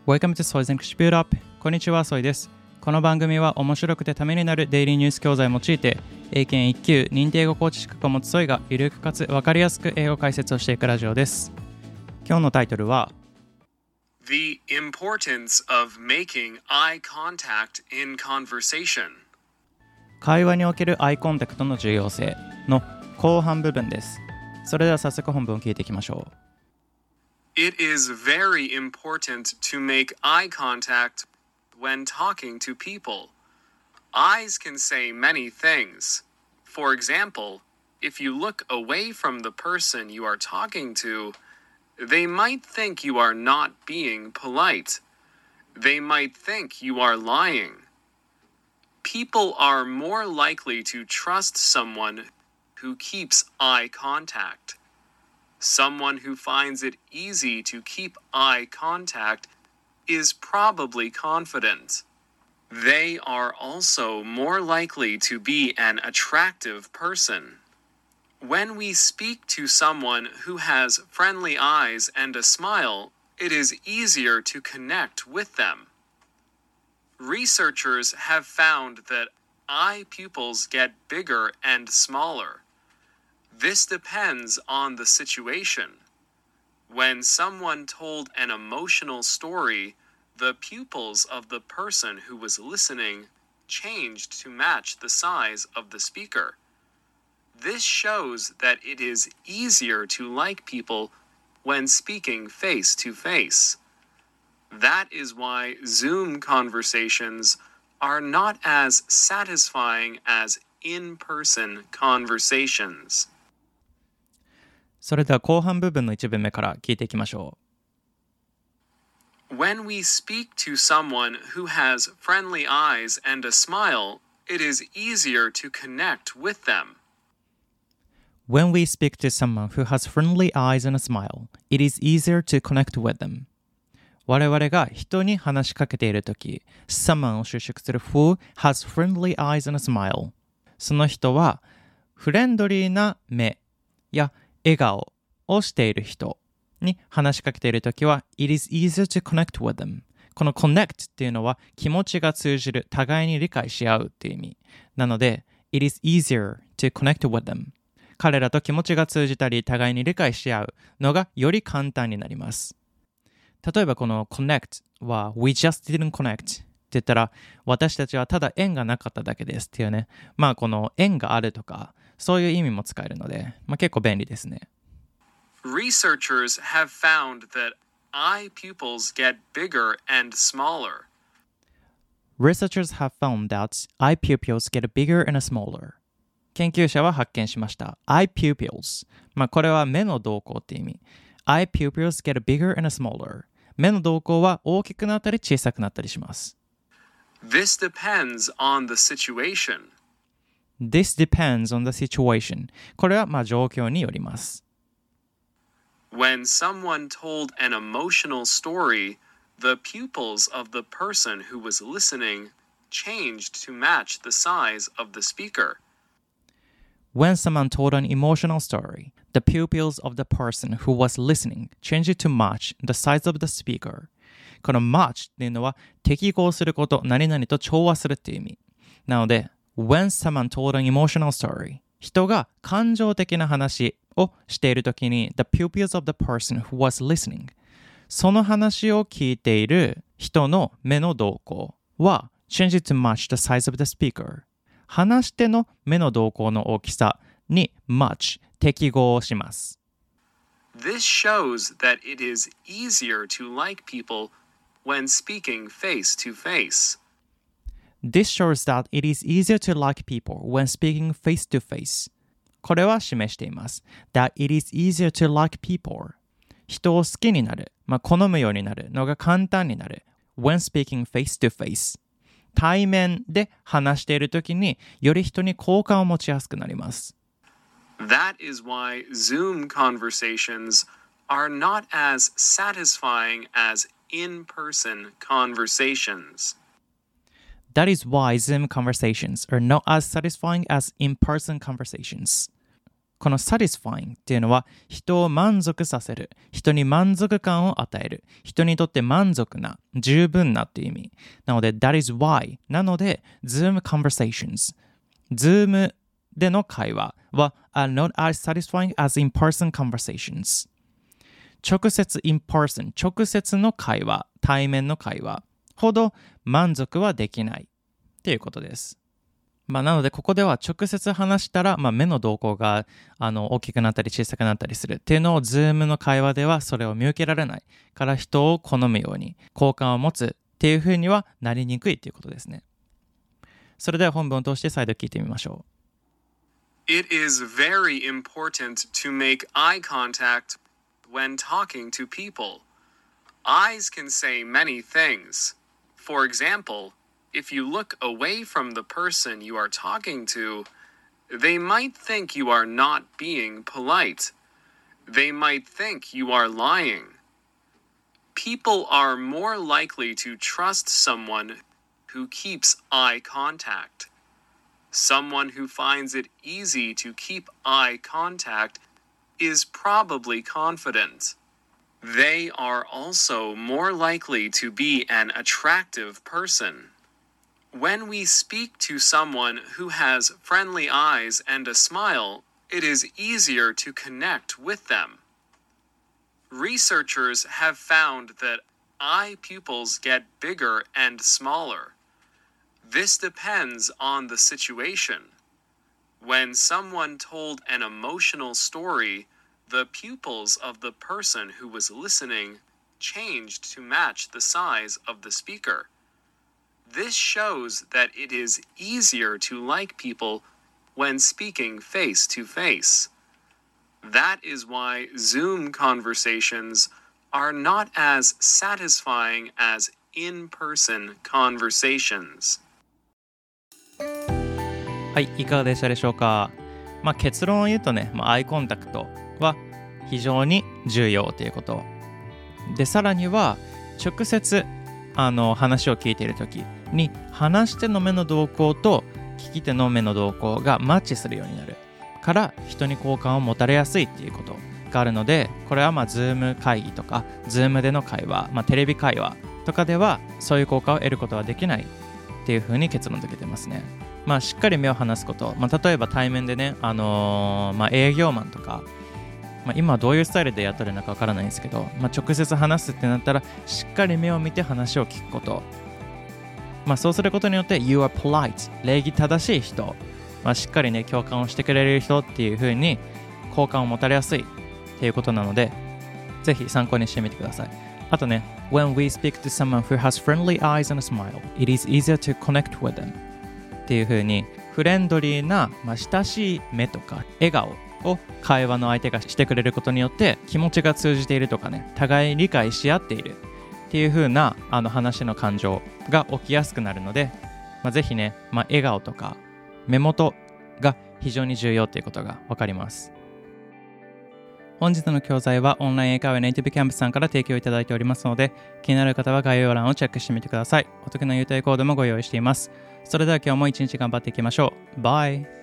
Welcome to Soy's English Build Up。こんにちは、ソイです。この番組は面白くてためになるデイリーニュース教材を用いて、英検1級認定英語コーチ資格を持つソイがゆるくかつ分かりやすく英語解説をしていくラジオです。今日のタイトルは The importance of making eye contact in conversation。 会話におけるアイコンタクトの重要性の後半部分です。それでは早速本文を聞いていきましょう。 It is very important to make eye contact when talking to people. Eyes can say many things. For example, if you look away from the person you are talking to, they might think you are not being polite. They might think you are lying. People are more likely to trust someone who keeps eye contact.Someone who finds it easy to keep eye contact is probably confident. They are also more likely to be an attractive person. When we speak to someone who has friendly eyes and a smile, it is easier to connect with them. Researchers have found that eye pupils get bigger and smaller.This depends on the situation. When someone told an emotional story, the pupils of the person who was listening changed to match the size of the speaker. This shows that it is easier to like people when speaking face to face. That is why Zoom conversations are not as satisfying as in-person conversations. それでは後半部分の一文目から聞いていきましょう。When we speak to someone who has friendly eyes and a smile, it is easier to connect with them. When we speak to someone who has friendly eyes and a smile, it is easier to connect with them. 我々が人に話しかけているとき、someone を修飾する who has friendly eyes and a smile。その人はフレンドリーな目や笑顔をしている人に話しかけているときは It is easier to connect with them この connect っていうのは気持ちが通じる互いに理解し合うっていう意味なので It is easier to connect with them 彼らと気持ちが通じたり互いに理解し合うのがより簡単になります例えばこの connect は We just didn't connect って言ったら私たちはただ縁がなかっただけですっていうねまあこの縁があるとかそういう意味も使えるので、結構便利ですね。 Researchers have found that eye pupils get bigger and smaller. Researchers have found that eye pupils get bigger and smaller. 研究者は発見しました。eye pupils。これは目の動向って意味。eye pupils get bigger and smaller. 目の動向は大きくなったり小さくなったりします。 This depends on the situation.This depends on the situation. これは状況によります。 When someone told an emotional story, the pupils of the person who was listening changed to match the size of the speaker. When someone told an emotional story, the pupils of the person who was listening changed to match the size of the speaker. この match っていうのは適合すること、何々と調和するっていう意味。なのでWhen someone told an emotional story 人が感情的な話をしているときに The pupils of the person who was listening その話を聞いている人の目の動向は Change it to match the size of the speaker 話し手の目の動向の大きさに match 適合します This shows that it is easier to like people when speaking face to face.This shows that it is easier to like people when speaking face to face. これは示しています。That it is easier to like people. 人を好きになる、好むようになるのが簡単になる。When speaking face to face. 対面で話しているときにより人に好感を持ちやすくなります。 That is why Zoom conversations are not as satisfying as in-person conversations.That is why Zoom conversations are not as satisfying as in-person conversations. この satisfying っていうのは人を満足させる、人に満足感を与える、人にとって満足な、十分なっていう意味。なので that is why なので Zoom conversations Zoom での会話は are not as satisfying as in-person conversations 直接 in-person 直接の会話、対面の会話ほど満足はできないっていうことです。なのでここでは直接話したら、目の動向が大きくなったり小さくなったりするっていうのを Zoom の会話ではそれを見受けられないから人を好むように好感を持つっていう風にはなりにくいっていうことですね。それでは本文を通して再度聞いてみましょう。It is very important to make eye contact when talking to people. Eyes can say many things. For example,If you look away from the person you are talking to, they might think you are not being polite. They might think you are lying. People are more likely to trust someone who keeps eye contact. Someone who finds it easy to keep eye contact is probably confident. They are also more likely to be an attractive person.When we speak to someone who has friendly eyes and a smile, it is easier to connect with them. Researchers have found that eye pupils get bigger and smaller. This depends on the situation. When someone told an emotional story, the pupils of the person who was listening changed to match the size of the speaker.This shows that it is easier to like people when speaking face to face. That is why Zoom conversations are not as satisfying as in-person conversations. はい、いかがでしたでしょうか。結論を言うとね、アイコンタクトは非常に重要ということ。で、さらには直接話を聞いているときに話し手の目の動向と聞き手の目の動向がマッチするようになるから人に好感を持たれやすいっていうことがあるので、これはZoom 会議とか Zoom での会話、テレビ会話とかではそういう効果を得ることはできないっていうふうに結論付けてますね。しっかり目を離すこと、例えば対面でね、営業マンとか今どういうスタイルでやってるのかわからないんですけど、直接話すってなったらしっかり目を見て話を聞くこと、そうすることによって You are polite 礼儀正しい人、しっかりね共感をしてくれる人っていう風に好感を持たれやすいっていうことなので、ぜひ参考にしてみてください。あとね When we speak to someone who has friendly eyes and a smile, it is easier to connect with them っていう風にフレンドリーな、親しい目とか笑顔を会話の相手がしてくれることによって気持ちが通じているとかね、互い理解し合っているっていう風な話の感情が起きやすくなるので、ぜひね、笑顔とか目元が非常に重要っていうことが分かります。本日の教材はオンライン英会話ネイティブキャンプさんから提供いただいておりますので、気になる方は概要欄をチェックしてみてください。お得な優待コードもご用意しています。それでは今日も一日頑張っていきましょう。バイ。